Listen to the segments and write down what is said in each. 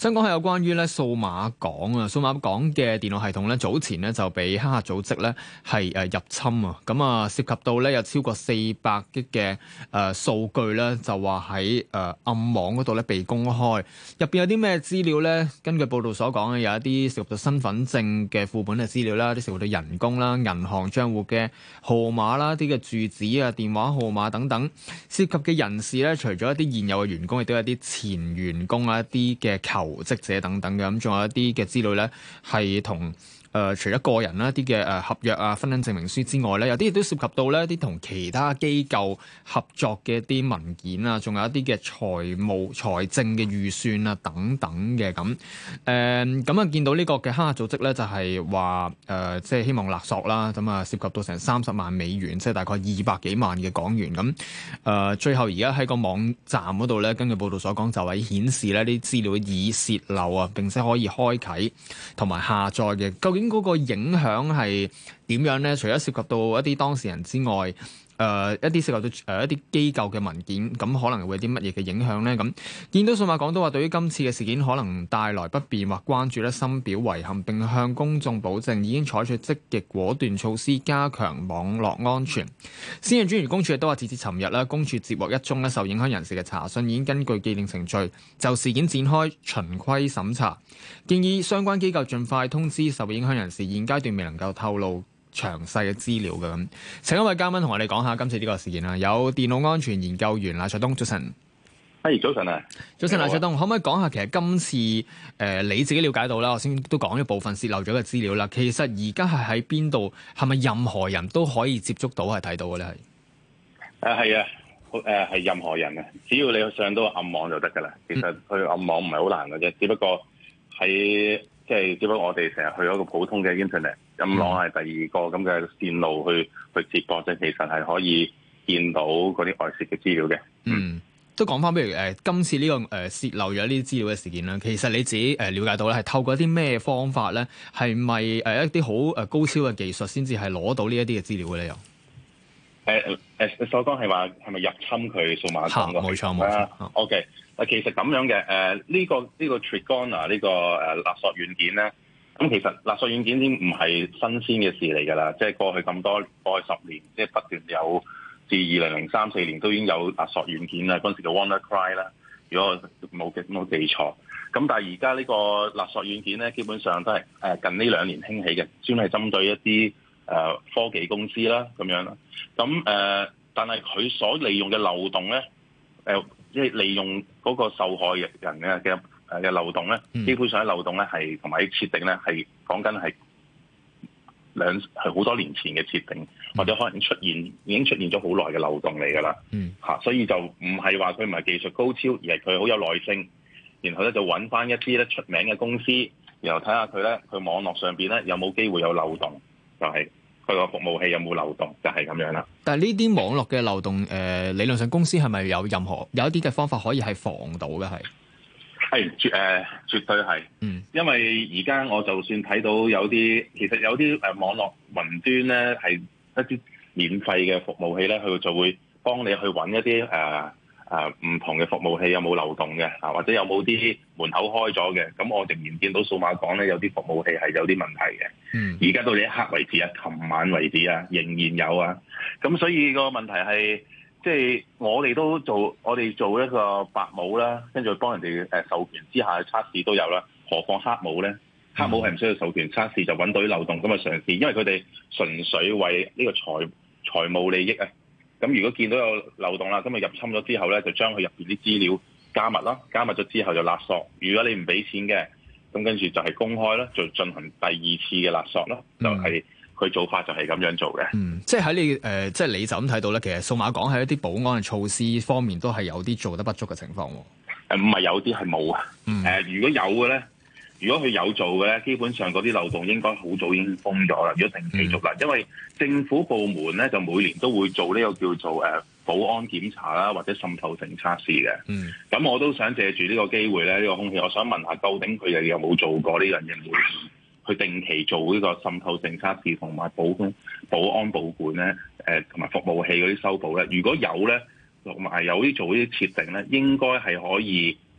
想講係有關於咧數碼港啊，數碼港嘅電腦系統咧早前咧就俾黑客組織咧係入侵啊，咁啊涉及到咧有超過400 G 嘅數據咧，就話喺暗網嗰度咧被公開，入邊有啲咩資料咧？根據報道所講嘅，有一啲涉及到身份證嘅副本嘅資料啦，啲涉及到人工啦、銀行帳戶嘅號碼啦、啲嘅住址啊、電話號碼等等，涉及嘅人士咧，除咗一啲現有嘅員工，亦都有一啲前員工啊、一啲嘅求職者等等嘅，咁仲有一啲嘅資料咧，係同除咗個人啦、一啲嘅合約啊、婚姻證明書之外咧，有啲亦都涉及到咧一啲同其他機構合作嘅一啲文件啊，仲有一啲嘅財政嘅預算啊等等嘅咁。咁啊見到呢個嘅黑客組織咧，就係話即係希望勒索啦，咁啊涉及到成30萬美元，即係大概200幾萬嘅港元咁。最後而家喺個網站嗰度咧，根據報道所講，就係顯示咧啲資料已洩漏啊，並且可以開啓同埋下載嘅。究竟嗰個影響係點樣咧？除咗涉及到一啲當事人之外，一啲涉及到一啲機構嘅文件，咁可能會有啲乜嘢嘅影響咧？咁見到數碼港都話，對於今次嘅事件可能帶來不便或關注咧，深表遺憾，並向公眾保證已經採取積極果斷措施，加強網絡安全。私隱專員公署亦都話，截至尋日啦，公署接獲一宗咧受影響人士嘅查詢，已經根據既定程序就事件展開循規審查，建議相關機構盡快通知受影響人士，現階段未能夠透露詳細嘅資料嘅咁。請一位嘉賓同我哋講下今次呢個事件啦。有電腦安全研究員賴灼東，早晨。 早晨啊！ 早晨，賴灼東，可唔可以講下其實今次你自己了解到啦？我先都講咗部分洩漏咗嘅資料啦。其實而家係喺邊度？係咪任何人都可以接觸到係睇到嘅咧？ 係啊，係任何人啊，只要你上到暗網就得噶啦。其實去暗網唔係好難嘅啫，只不過只不過我哋成日去一個普通嘅 internet， 暗網係第二個咁嘅線路去接駁啫。其實係可以見到嗰啲外泄嘅資料嘅。 都講翻，譬如今次呢個洩漏咗呢啲資料嘅事件啦，其實你自己了解到咧，係透過一啲咩方法咧？係咪一啲好高超嘅技術先至係攞到呢一啲嘅資料嘅咧？又你所講係話係咪入侵佢數碼港嘅？ 冇錯。 OK， 其實咁樣嘅呢個 Trigona 呢個勒索軟件咧，咁其實勒索軟件已經唔係新鮮嘅事嚟㗎啦，即係過去10年，即係不斷有。自2003-4年都已經有勒索軟件啦，嗰陣時叫 WannaCry 啦，如果我冇記錯。咁但係而家呢個勒索軟件咧，基本上都係近呢2年興起嘅，專係針對一啲科技公司啦咁樣啦。咁但係佢所利用嘅漏洞咧，即係利用嗰個受害人嘅漏洞咧，基本上喺漏洞咧係同埋喺設定咧係講緊係好多年前嘅設定，或者可能已經出現咗好耐嘅漏洞嚟㗎啦。所以就唔係話佢唔係技術高超，而係佢好有耐性，然後咧就揾翻一啲咧出名嘅公司，然後睇下佢咧佢網絡上邊咧有冇機會有漏洞，就係佢個服務器有冇漏洞，就係咁樣啦。 但係呢啲網絡嘅漏洞，理論上公司係咪有一啲嘅方法可以係防到嘅？ 係絕對係，因為而家我就算睇到其實有啲網絡雲端咧係一啲免費嘅服務器咧，佢就會幫你去揾一啲唔同嘅服務器有冇漏洞嘅，或者有冇啲門口開咗嘅。咁我仍然見到數碼港咧有啲服務器係有啲問題嘅。而家到呢一刻為止啊，琴晚為止啊，仍然有啊。咁所以個問題係。即係我哋做一個白帽啦，跟住幫人哋授權之下嘅測試都有啦。何況黑帽咧？黑帽係唔需要授權測試就揾到啲漏洞咁啊嘗試，因為佢哋純粹為呢個財務利益啊。咁如果見到有漏洞啦，咁啊入侵咗之後咧，就將佢入邊啲資料加密啦，加密咗之後就勒索。如果你唔俾錢嘅，咁跟住就係公開啦，就進行第二次嘅勒索啦，就係。佢做法就係咁樣做嘅。 即係喺你即係你就咁睇到咧，其實數碼港喺一啲保安嘅措施方面都係有啲做得不足嘅情況。 唔係有啲係冇啊。如果有嘅咧，如果佢有做嘅咧，基本上嗰啲漏洞應該好早已經封咗啦。如果定期做啦，因為政府部門咧就每年都會做呢個叫做保安檢查啦，或者滲透性測試嘅。咁我都想借住呢個機會咧，呢個空氣，我想問下，究竟佢哋有冇做過呢樣嘢？去定期做呢個滲透性測試同埋保安保管咧，同埋服務器嗰啲修補咧。如果有咧，同埋有啲做呢啲設定咧，應該係可以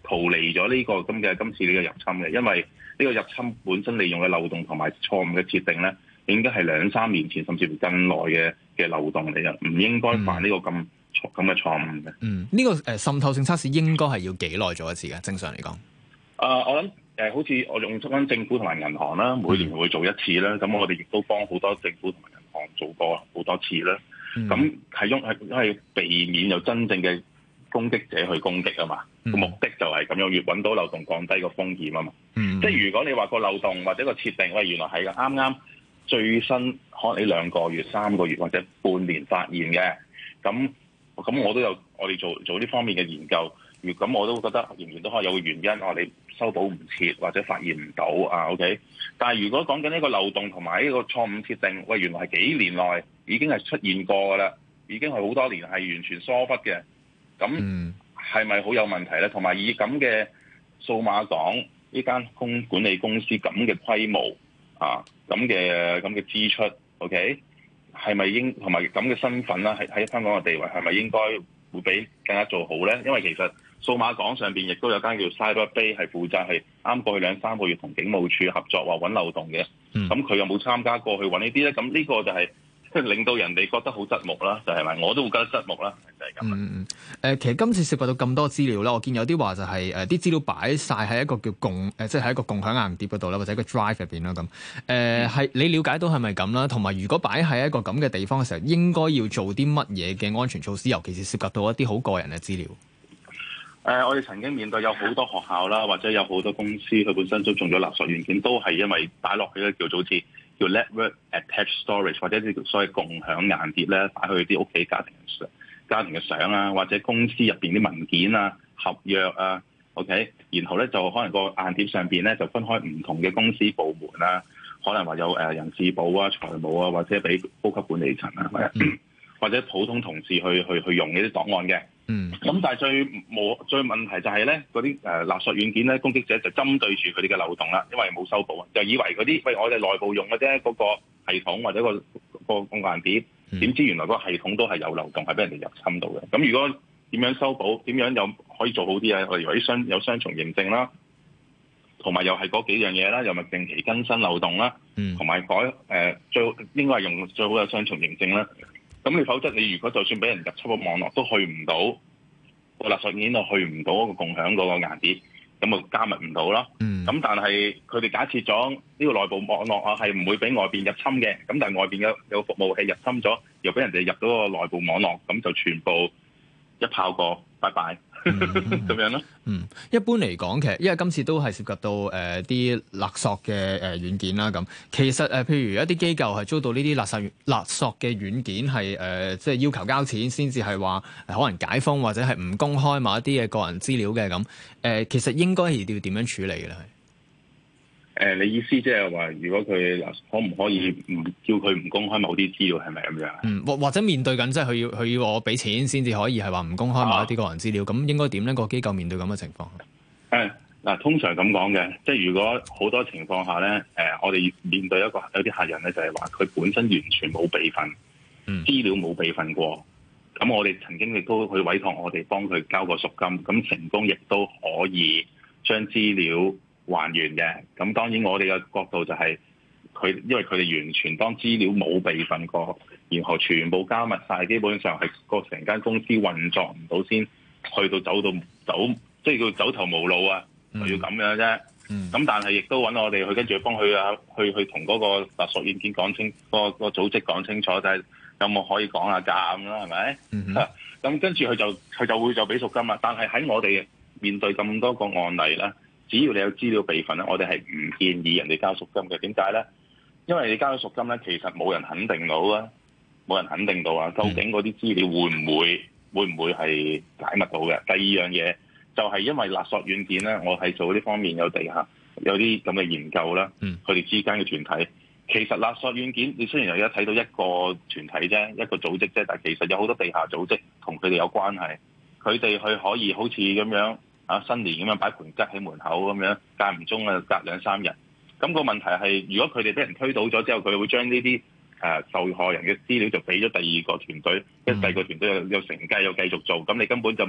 逃離咗呢個今次呢個入侵嘅，因為呢個入侵本身利用嘅漏洞同埋錯誤嘅設定咧，應該係2-3年前甚至乎更耐嘅漏洞嚟嘅，唔應該犯呢個咁嘅錯誤嘅。 呢個滲透性測試應該係要幾耐做一次嘅？正常嚟講， 我諗好似我用翻政府同埋銀行啦，每年會做一次啦。咁我哋亦都幫好多政府同埋銀行做過好多次啦。咁係避免有真正嘅攻擊者去攻擊啊嘛。目的就係咁樣，越揾到漏洞，降低個風險啊嘛。即係如果你話個漏洞或者個設定，喂，原來係啱啱最新可能你2個月、3個月或者半年發現嘅，咁我都有我哋做呢方面嘅研究。咁我都覺得仍然都可以有個原因，我哋修補唔切或者發現唔到啊。OK， 但係如果講緊呢個漏洞同埋呢個錯誤設定，喂，原來係幾年內已經係出現過噶啦，已經係好多年係完全疏忽嘅，咁係咪好有問題咧？同埋以咁嘅數碼港呢間管理公司咁嘅規模啊，咁嘅支出 ，OK， 係咪同埋咁嘅身份啦，喺香港嘅地位係咪應該會比更加做好咧？因為其實數碼港上邊亦都有間叫 Cyberbay 係負責係啱過去2-3個月同警務處合作話揾漏洞嘅，咁佢有冇參加過去揾呢啲咧？咁呢個就係令到人哋覺得好側目啦，就係咪？我都會覺得側目啦，就係咁。 其實今次涉及到咁多資料啦，我見有啲話就係啲資料擺晒喺一個叫即係喺一個共享硬碟嗰度啦，或者一個 drive 入邊啦咁。係你了解到係咪咁啦？同埋如果擺喺一個咁嘅地方嘅時候，應該要做啲乜嘢嘅安全措施？尤其是涉及到一啲好個人嘅資料。 我哋曾經面對有好多學校啦，或者有好多公司，佢本身都中咗勒索軟件，都係因為擺落去咧叫做好似叫 network attached storage 或者啲所謂共享硬碟咧，擺去啲屋企家庭嘅相啊，或者公司入邊啲文件啊、合約啊 ，OK， 然後咧就可能個硬碟上邊咧就分開唔同嘅公司部門啦，可能話有人事部啊、財務啊，或者俾高級管理層啊，或者普通同事去用呢啲檔案嘅。咁但係最問題就係咧，嗰啲勒索軟件咧，攻擊者就針對住佢哋嘅漏洞啦，因為冇修補啊，就以為嗰啲我哋內部用嘅啫，嗰個系統或者個硬碟，點知原來嗰個系統都係有漏洞，係俾人哋入侵到嘅。咁如果點樣修補？點樣又可以做好啲啊？例如有雙重認證啦，同埋又係嗰幾樣嘢啦，又咪定期更新漏洞啦，同埋最應該係用最好嘅雙重認證啦。咁你否則你如果就算俾人入侵個網絡都去唔到個勒索軟件，就去唔到嗰個共享嗰個硬碟，咁就加密唔到啦。咁但係佢哋假設咗呢個內部網絡啊係唔會俾外邊入侵嘅，咁但係外邊有服務器入侵咗，又俾人哋入到個內部網絡，咁就全部一炮過，拜拜。咁樣咯。 一般嚟講，其實因為今次都係涉及到啲勒索嘅軟件啦，咁其實譬如一啲機構係遭到呢啲勒索嘅軟件係即係要求交錢先至係話可能解封或者係唔公開某一啲嘅個人資料嘅咁，其實應該係要點樣處理嘅咧？ 你意思即係話，如果佢可唔可以唔叫佢唔公開某啲資料，係咪咁樣？ 或者面對緊即係佢要我俾錢先至可以係話唔公開某一啲個人資料，咁應該點咧？個機構面對咁嘅情況？ 通常咁講嘅，即係如果好多情況下咧，我哋面對有啲客人咧，就係話佢本身完全冇備份，資料冇備份過，咁我哋曾經亦都去委託我哋幫佢交個贖金，咁成功亦都可以將資料還原嘅。咁當然我哋嘅角度就係因為佢哋完全當資料冇備份過，然後全部加密晒，基本上係個成間公司運作唔到先去到走，即係叫走投無路啊，就要咁樣啫。咁但係亦都揾我哋去跟住幫佢啊，去同嗰個勒索軟件講清，個組織講清楚，就係有冇可以講下價咁啦，係咪？咁跟住佢就會俾贖金啦。但係喺我哋面對咁多個案例咧，只要你有資料備份咧，我哋係唔建議人哋交贖金嘅。點解咧？因為你交咗贖金咧，其實冇人肯定到啊，究竟嗰啲資料會唔會係解密到嘅？第二樣嘢就係因為勒索軟件咧，我係做呢方面有啲咁嘅研究啦，佢哋之間嘅團體，其實勒索軟件你雖然有睇到一個團體啫，一個組織啫，但係其實有好多地下組織同佢哋有關係，佢哋去可以好似咁樣新年咁樣擺盤桔喺門口咁樣，間唔中隔2-3日。咁個問題係，如果佢哋俾人推倒咗之後，佢會將呢啲受害人嘅資料就俾咗第二個團隊，跟住第二個團隊又承繼又繼續做，咁你根本就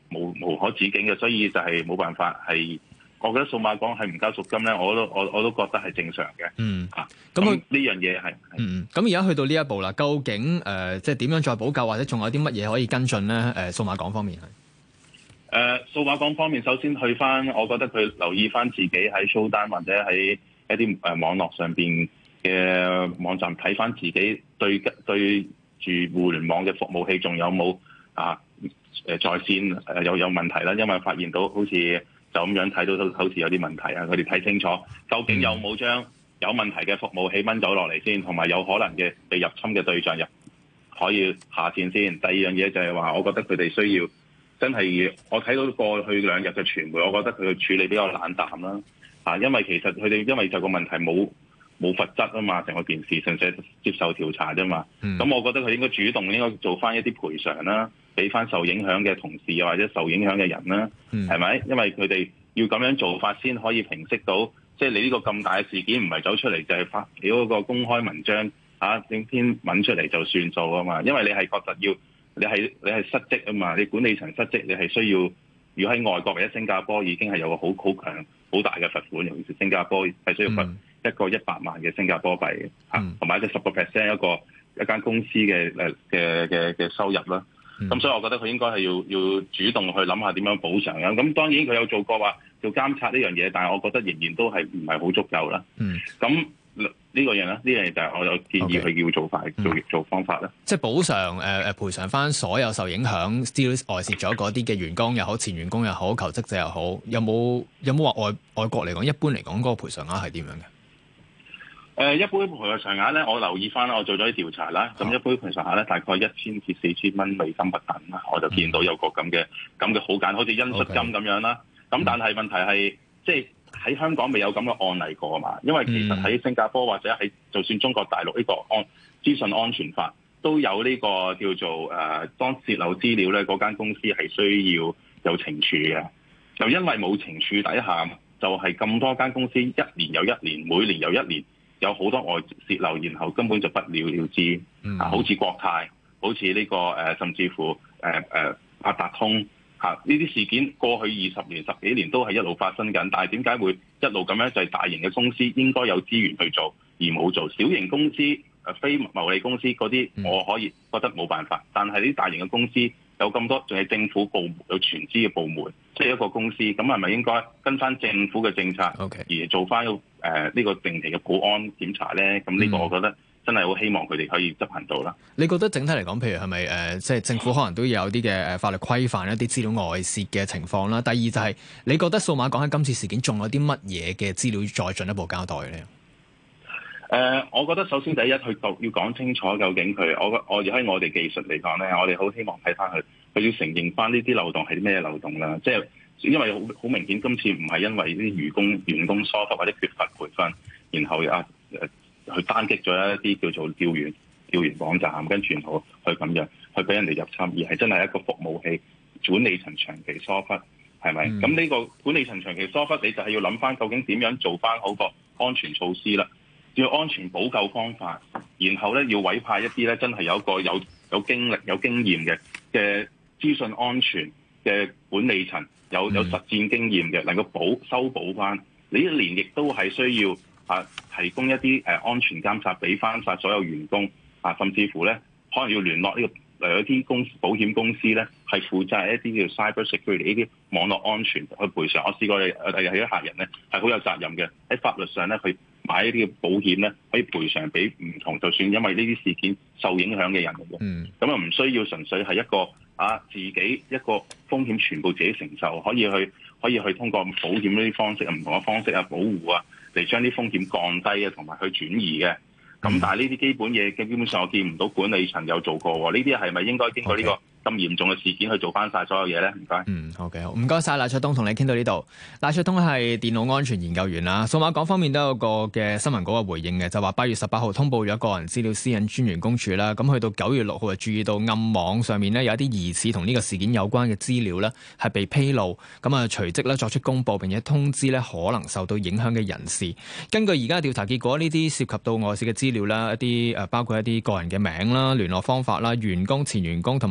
無可止境嘅，所以就係冇辦法係。我覺得數碼港係唔交贖金咧，我都覺得係正常嘅。咁呢樣嘢係咁而家去到呢一步啦，究竟即係點樣再補救，或者仲有啲乜嘢可以跟進咧？數碼港方面係數碼港方面，首先去翻，我覺得佢留意翻自己喺 Showtime 或者喺一啲網絡上邊嘅網站睇翻自己對住互聯網嘅服務器仲有冇在線有問題啦，因為發現到好似就咁樣睇到好似有啲問題啊，佢哋睇清楚究竟有冇將有問題嘅服務器掹走落嚟先，同埋有可能嘅被入侵嘅對象可以下線先。第二樣嘢就係話，我覺得佢哋需要真係，我睇到過去2日嘅傳媒，我覺得佢嘅處理比較冷淡啦。因為其實佢哋因為就個問題冇罰則啊嘛，成個件事純粹接受調查啫嘛。咁我覺得佢應該主動應該做翻一啲賠償啦，俾翻受影響嘅同事或者受影響嘅人啦，係咪？因為佢哋要咁樣做法先可以平息到，即係你呢個咁大嘅事件唔係走出嚟就係發表嗰個公開文章整篇文出嚟就算數啊嘛。因為你係確實你係失職啊嘛，你管理層失職，你係需要如果喺外國或者新加坡已經係有個好強好大嘅罰款，尤其是新加坡係需要罰一個100萬嘅新加坡幣同埋一個10% 一間公司嘅收入啦。咁所以我覺得佢應該係要主動去諗下點樣補償嘅。咁當然佢有做過話做監察呢樣嘢，但係我覺得仍然都係唔係好足夠啦。咁呢個樣呢樣嘢就係我有建議佢要做法做方法啦。 即係補償賠償翻所有受影響資料外泄咗嗰啲嘅員工又好、前員工又好、求職者又好，有冇話外國嚟講，一般嚟講嗰個賠償額係點樣嘅？ 一般賠償額咧，我留意翻啦，我做咗啲調查啦。咁一般賠償額咧，大概1000至4000蚊美金不等啦。我就見到有個咁嘅好簡，好似恩恤金咁樣啦。咁但係問題係，即係喺香港未有咁嘅案例過嘛？因為其實喺新加坡或者喺就算中國大陸呢個資訊安全法都有呢個叫做當泄漏資料咧，嗰間公司係需要有懲處嘅。就因為冇懲處底下，就係咁多間公司一年又一年，每年又一年。有好多外泄漏，然後根本就不了了之。好似國泰，好似呢個甚至乎八達通呢啲事件，過去20年、10幾年都係一路發生緊。但係點解會一路咁樣？就係大型嘅公司應該有資源去做，而冇做。小型公司、非牟利公司嗰啲，我可以覺得冇辦法。但係呢啲大型嘅公司有咁多，仲係政府部門有全資嘅部門，即係一個公司，咁係咪應該跟翻政府嘅政策而做翻呢個定期嘅保安檢查咧？咁呢個我覺得真係好希望佢哋可以執行到啦。 你覺得整體嚟講，譬如係咪即係政府可能都有啲嘅法律規範一啲資料外泄嘅情況啦？第二就係你覺得數碼港喺今次事件仲有啲乜嘢嘅資料再進一步交代咧？ 我覺得首先第一，佢要講清楚究竟佢，我喺我哋技術嚟講咧，我哋好希望睇翻佢要承認翻呢啲漏洞係啲咩漏洞啦。即係因為好明顯，今次唔係因為啲員工疏忽或者缺乏培訓，然後去單擊咗一啲叫做調研網站，跟住然後去咁樣去俾人哋入侵，而係真係一個服務器管理層長期疏忽，係咪？咁呢個管理層長期疏忽，你就係要諗翻究竟點樣做翻好個安全措施啦。要安全補救方法，然後咧要委派一啲咧真係有個有經歷有經驗嘅資訊安全嘅管理層，有實戰經驗嘅，能夠修補翻。你一年亦都係需要提供一啲安全監察俾翻晒所有員工甚至乎咧可能要聯絡呢個有啲保險公司咧係負責一啲叫 cyber security 呢啲網絡安全去賠償。我試過有啲客人咧係好有責任嘅，喺法律上咧佢買呢啲嘅保險咧，可以賠償俾唔同，就算因為呢啲事件受影響嘅人嚟嘅。咁啊唔需要純粹係一個自己一個風險全部自己承受，可以去通過保險呢啲方式唔同嘅方式保護嚟將啲風險降低同埋去轉移嘅。咁但係呢啲基本嘢基本上我見唔到管理層有做過喎。呢啲係咪應該經過呢個咁嚴重嘅事件去做翻晒所有嘢咧？唔該。 OK， 好，唔該晒賴灼東，同你傾到呢度。賴灼東係電腦安全研究員啦。數碼港方面都有個嘅新聞稿嘅回應嘅，就話8月18號通報咗個人資料私隱專員公署啦。咁去到9月6號就注意到暗網上面呢有一啲疑似同呢個事件有關嘅資料呢係被披露，咁啊隨即呢作出公佈，並且通知呢可能受到影響嘅人士。根據而家調查結果，呢啲涉及到外泄嘅資料啦，一啲包括一啲個人嘅名啦、聯絡方法啦、員工、前員工同埋求職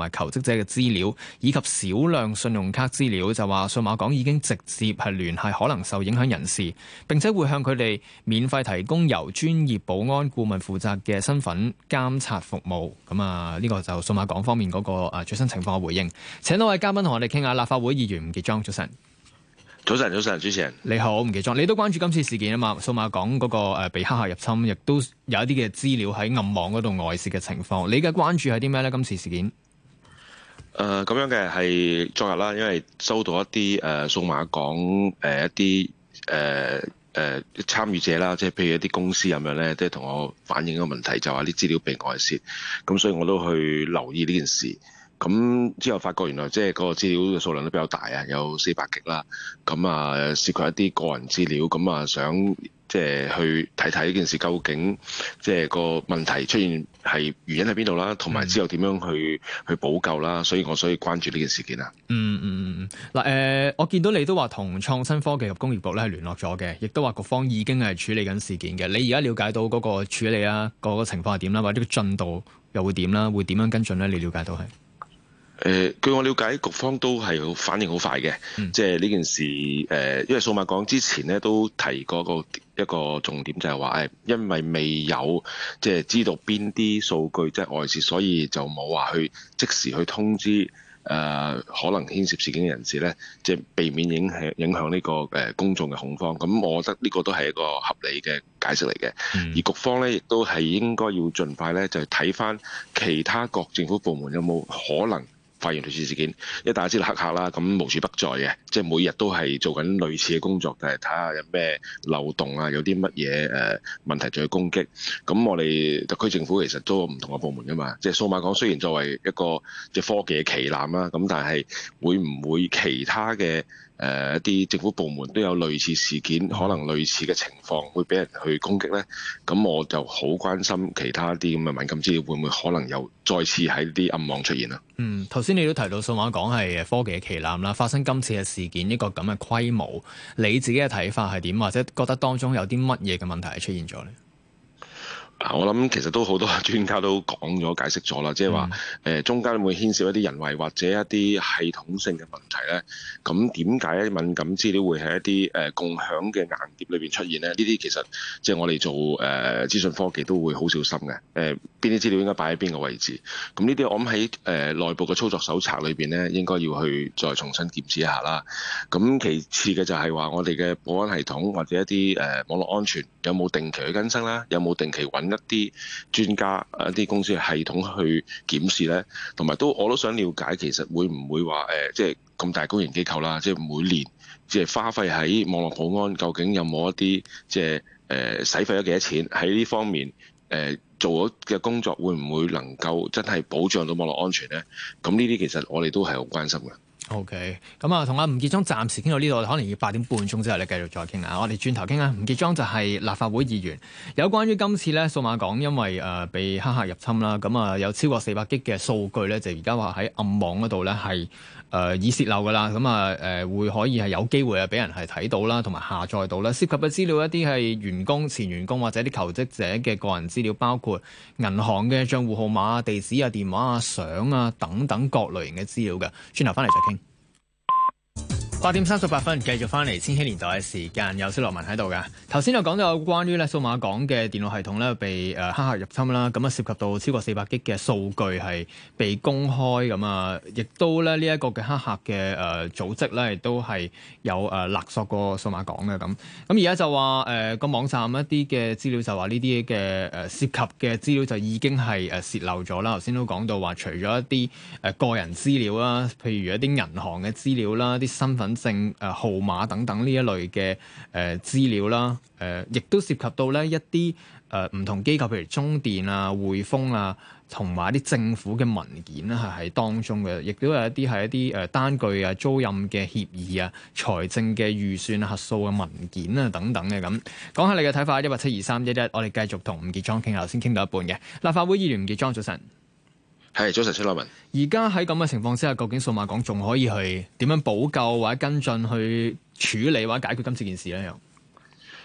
者嘅資料以及少量信用卡資料，就話數碼港已經直接係聯繫可能受影響人士，並且會向佢哋免費提供由專業保安顧問負責嘅身份監察服務。咁啊，呢個就數碼港方面嗰個最新情況嘅回應。請多位嘉賓同我哋傾下。立法會議員吳傑莊，早晨。 早晨，主持人你好，吳傑莊，你都關注今次事件啊嘛？數碼港嗰個被黑客入侵，亦都有一啲嘅資料喺暗網嗰度外泄嘅情況。你嘅關注係啲咩咧？今次事件咁樣嘅係昨日啦，因為收到一啲數碼港一啲參與者啦，即係譬如一啲公司咁樣咧，即係同我反映個問題，就話啲資料被外泄，咁所以我都去留意呢件事。咁之後發覺原來即係嗰個資料嘅數量都比較大啊，有400 G 啦。咁啊涉及一啲個人資料，咁啊想即係去睇睇呢件事究竟即係個問題出現係原因喺邊度啦，同埋之後點樣去補救啦。所以關注呢件事件啊。 嗱我見到你都話同創新科技及工業局咧係聯絡咗嘅，亦都話局方已經係處理緊事件嘅。你而家了解到嗰個處理啊，嗰個情況係點啦，或者個進度又會點啦？會點樣跟進咧？你了解到係？ 據我了解，局方都係反應好快嘅，即係呢件事因為數碼港之前咧都提過一個重點，就係話因為未有即係知道邊啲數據即係外泄，所以就冇話去即時去通知可能牽涉事件嘅人士咧，即係避免影響呢個公眾嘅恐慌。咁我覺得呢個都係一個合理嘅解釋嚟嘅。而局方咧亦都係應該要盡快咧，就睇翻其他各政府部門有冇可能發現類似事件，因為大家知道黑客啦，咁無處不在嘅，即係每日都係做緊類似嘅工作，就係睇下有咩漏洞啊，有啲乜嘢問題再去攻擊。咁我哋特區政府其實都有唔同嘅部門噶嘛，即係數碼港雖然作為一個即係科技嘅旗艦啦，咁但係會唔會其他嘅一啲政府部門都有類似事件，可能類似嘅情況會俾人去攻擊呢？咁我就好關心其他啲咁嘅敏感資料會唔會可能又再次喺啲暗網出現啊？ 頭先你都提到數碼港係科技嘅旗艦啦，發生今次嘅事件一個咁嘅規模，你自己嘅睇法係點？或者覺得當中有啲乜嘢嘅問題係出現咗呢？ 我諗其實都好多專家都講咗解釋咗啦，即係話中間會牽涉一啲人為或者一啲系統性嘅問題咧。咁點解敏感資料會喺一啲共享嘅硬碟裏邊出現咧？呢啲其實即係我哋做資訊科技都會好小心嘅。邊啲資料應該擺喺邊個位置？咁呢啲我諗喺內部嘅操作手冊裏邊咧，應該要去再重新檢視一下啦。咁其次嘅就係話我哋嘅保安系統或者一啲網絡安全有冇定期去更新啦？有冇定期揾一啲專家一啲公司嘅系統去檢視咧？同埋我都想了解，其實會唔會話即係咁大公營機構啦，即係每年即係花費喺網絡保安，究竟有冇一啲即係使費咗幾多錢喺呢方面做咗嘅工作，會唔會能夠真係保障到網絡安全咧？咁呢啲其實我哋都係好關心嘅。 OK，咁啊，同阿吳傑莊暫時傾到呢度，可能要8點半鐘之後咧繼續再傾啊。我哋轉頭傾啊。吳傑莊就係立法會議員，有關於今次咧數碼港因為被黑客入侵啦，咁啊有超過400 G 嘅數據咧，就而家話喺暗網嗰度咧係已泄漏噶啦，咁會可以係有機會俾人係睇到啦，同埋下載到啦。涉及嘅資料一啲係員工、前員工或者啲求職者嘅個人資料，包括銀行嘅帳戶號碼、地址啊、電話啊、相啊等等各類型嘅資料嘅。轉頭翻嚟再傾。8點38分，繼續翻嚟千禧年代嘅時間，有蕭樂文喺度㗎。頭先就講到有關於咧數碼港嘅電腦系統咧被黑客入侵啦，咁啊涉及到超過400 G 嘅數據係被公開，咁啊亦都咧呢一個嘅黑客嘅組織咧亦都係有勒索過數碼港嘅咁。咁而家就話個網站一啲嘅資料就話呢啲嘅涉及嘅資料就已經係洩漏咗啦。頭先都講到話，除咗一啲個人資料啦，譬如一啲銀行嘅資料啦，啲身份證號碼等等呢一類嘅資料啦，亦都涉及到咧一啲唔同機構，譬如中電啊、匯豐啊，同埋一啲政府嘅文件咧係喺當中嘅，亦都有一啲係一啲單據啊、租賃嘅協議啊、財政嘅預算核數嘅文件啊等等嘅咁。講下你嘅睇法，17231，我哋繼續同吳傑莊傾下，頭先傾到一半嘅立法會議員吳傑莊，早晨。 係，早晨，蕭樂文。 而家喺咁嘅情況之下，究竟數碼港仲可以去點樣補救或者跟進去處理或者解決今次件事咧？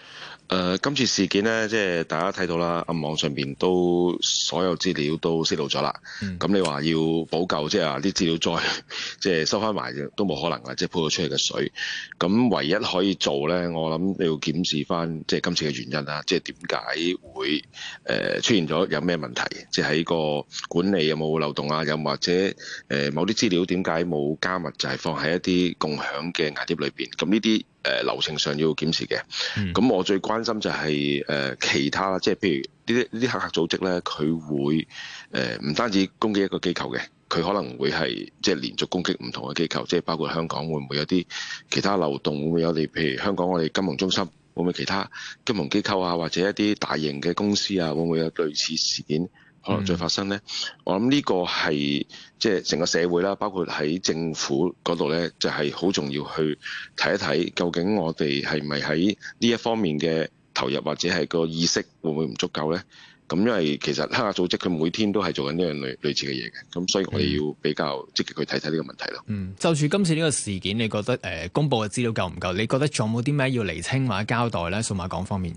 今次事件咧，即係大家睇到啦，網上邊都所有資料都泄露咗啦。咁你話要補救，即係話啲資料再即係收翻埋都冇可能啦，即係潑咗出嚟嘅水。咁唯一可以做咧，我諗你要檢視翻即係今次嘅原因啦，即係點解會出現咗有咩問題？即係喺個管理有冇漏洞啊？又或者某啲資料點解冇加密，就係放喺一啲共享嘅硬碟裏邊？咁呢啲流程上要檢視嘅。咁我最關心就係其他啦，即係譬如呢啲黑客組織咧，佢會唔單止攻擊一個機構嘅，佢可能會係即係連續攻擊唔同嘅機構，即係包括香港會唔會有啲其他漏洞？會唔會有譬如香港我哋金融中心會唔會其他金融機構啊，或者一啲大型嘅公司啊，會唔會有類似事件可能再發生呢？我諗呢個係即係成個社會啦，包括喺政府嗰度呢，就係好重要去睇一睇，究竟我哋係咪喺呢一方面嘅投入或者係個意識會唔會唔足夠呢？咁因為其實黑客組織佢每天都係做緊呢樣類似嘅嘢嘅，咁所以我哋要比較積極去睇睇呢個問題咯。 就住今次呢個事件，你覺得公佈嘅資料夠唔夠？你覺得仲有冇啲咩要釐清或者交代呢？數碼港方面。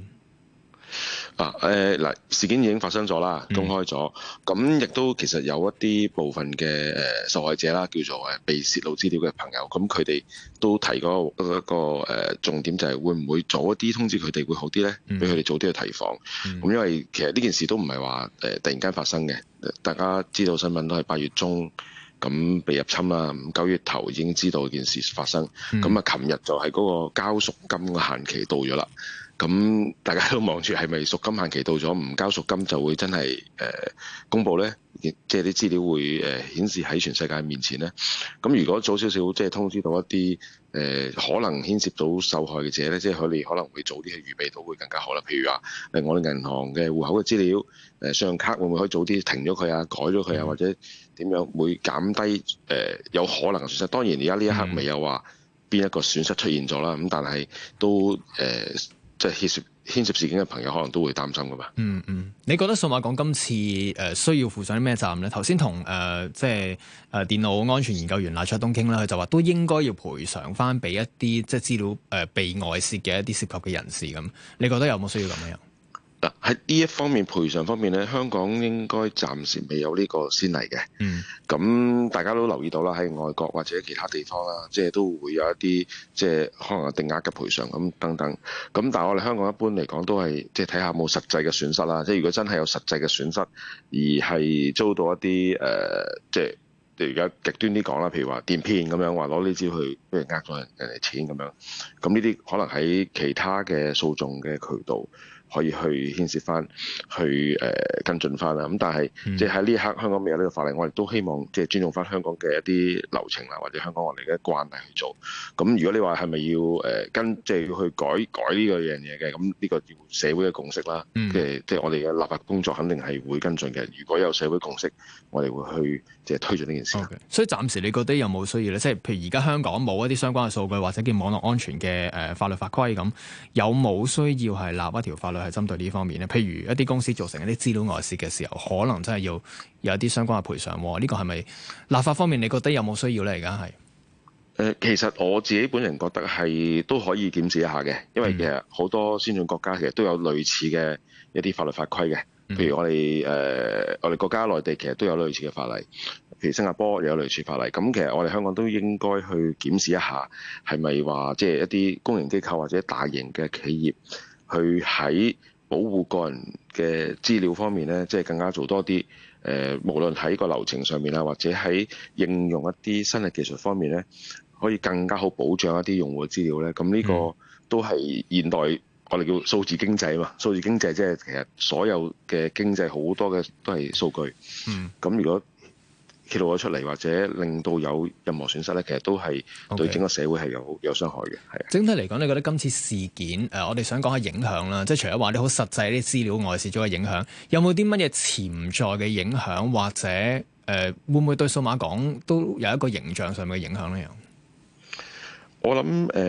事件已經發生咗啦，公開咗，咁亦都其實有一啲部分嘅受害者啦，叫做被泄露資料嘅朋友，咁佢哋都提過一個重點，就係會唔會早一啲通知佢哋會好啲呢？俾佢哋早啲去提防。咁因為其實呢件事都唔係話突然間發生嘅，大家知道新聞都係8月中咁被入侵啦，9月頭已經知道件事發生，咁啊，琴日就係嗰個交贖金嘅限期到咗啦。咁大家都望住係咪贖金限期到咗，唔交贖金就會真係公佈呢？即係啲資料會顯示喺全世界面前呢。咁如果早少少即係通知到一啲可能牽涉到受害嘅者呢，即係佢哋可能會早啲去預備到會更加好啦。譬如話我哋銀行嘅戶口嘅資料，信用卡會唔會可以早啲停咗佢啊、改咗佢啊，或者點樣會減低有可能嘅損失？當然而家呢一刻未有話邊一個損失出現咗啦。咁但係都即係牽涉事件嘅朋友可能都會擔心噶嘛。 你覺得數碼港今次需要負上啲咩責任咧？頭先同即係電腦安全研究員賴灼東傾啦，佢就話都應該要賠償翻俾一啲即係資料被外泄嘅一啲涉及嘅人士咁。你覺得有冇需要咁樣？ 喺呢一方面賠償方面咧，香港應該暫時未有呢個先例嘅。咁大家都留意到啦，喺外國或者其他地方啦，即係都會有一啲即係可能有定額嘅賠償咁等等。咁但係我哋香港一般嚟講都係即係睇下有冇實際嘅損失啦。即係如果真係有實際嘅損失，而係遭到一啲即係而家極端啲講啦，譬如話電騙咁樣，話攞呢招去俾人呃咗人哋錢咁樣。咁呢啲可能喺其他嘅訴訟嘅渠道可以去牽涉翻，去跟進翻啦。咁但係即係喺呢一刻香港未有呢個法例，我哋都希望即係尊重翻香港嘅一啲流程啦，或者香港我哋嘅慣例去做。咁如果你話係咪要即係要去改呢個樣嘢嘅，咁呢個要社會嘅共識啦。即係我哋嘅立法工作肯定係會跟進嘅。如果有社會共識，我哋會去即係推進呢件事。 所以暫時你覺得有冇需要咧？即係譬如而家香港冇一啲相關嘅數據，或者叫網絡安全嘅法律法規咁，有冇需要係立一條法律係針對呢方面咧？譬如一啲公司造成一啲資料外泄嘅時候，可能真係要有一啲相關嘅賠償。呢個係咪立法方面你覺得有冇需要咧？而家係其實我自己本人覺得係都可以檢視一下嘅，因為其實好多先進國家其實都有類似嘅一啲法律法規嘅。譬如我哋國家內地其實都有類似嘅法例，譬如新加坡又有類似法例。咁其實我哋香港都應該去檢視一下，係咪話即係一啲公營機構或者大型嘅企業，去喺保護個人嘅資料方面咧，即係更加做多啲。無論喺個流程上面啊，或者喺應用一啲新嘅技術方面咧，可以更加好保障一啲用戶嘅資料咧。咁呢個都係現代我哋叫數字經濟嘛。數字經濟即係其實所有嘅經濟好多嘅都係數據。咁如果揭露咗出嚟，或者令到有任何損失咧，其實都係對整個社會係有傷害嘅。係整體嚟講，你覺得今次事件我哋想講下影響啦，即係除咗話啲好實際啲資料外泄咗嘅影響，有冇啲乜嘢潛在嘅影響，或者會唔會對數碼港都有一個形象上面嘅影響咧？ 我諗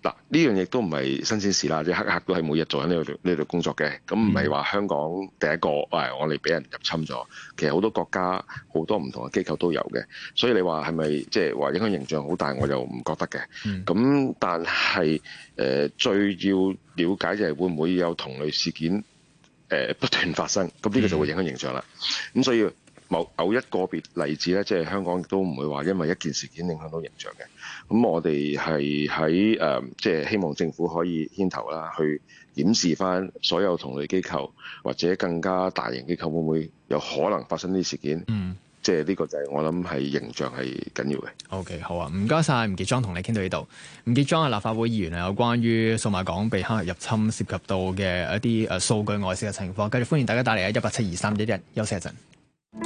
嗱，呢樣亦都唔係新鮮事啦，即係黑客都係每日做緊呢度工作嘅，咁唔係話香港第一個，我哋俾人入侵咗，其實好多國家好多唔同嘅機構都有嘅，所以你話係咪即係話影響形象好大，我就唔覺得嘅。咁但係最要了解就係會唔會有同類事件不斷發生，咁呢個就會影響形象啦。咁所以某一個別例子咧，即係香港亦都唔會話因為一件事件影響到形象嘅。咁我哋係喺即係希望政府可以牽頭啦，去檢視翻所有同類機構或者更加大型機構會唔會有可能發生呢啲事件。即係呢個就係我諗係形象係緊要嘅。 OK， 好啊，唔該晒，吳傑莊同你傾到呢度。吳傑莊係立法會議員啊，有關於數碼港被黑客入侵涉及到嘅一啲數據外泄嘅情況，繼續歡迎大家打嚟啊，1872311，休息一陣。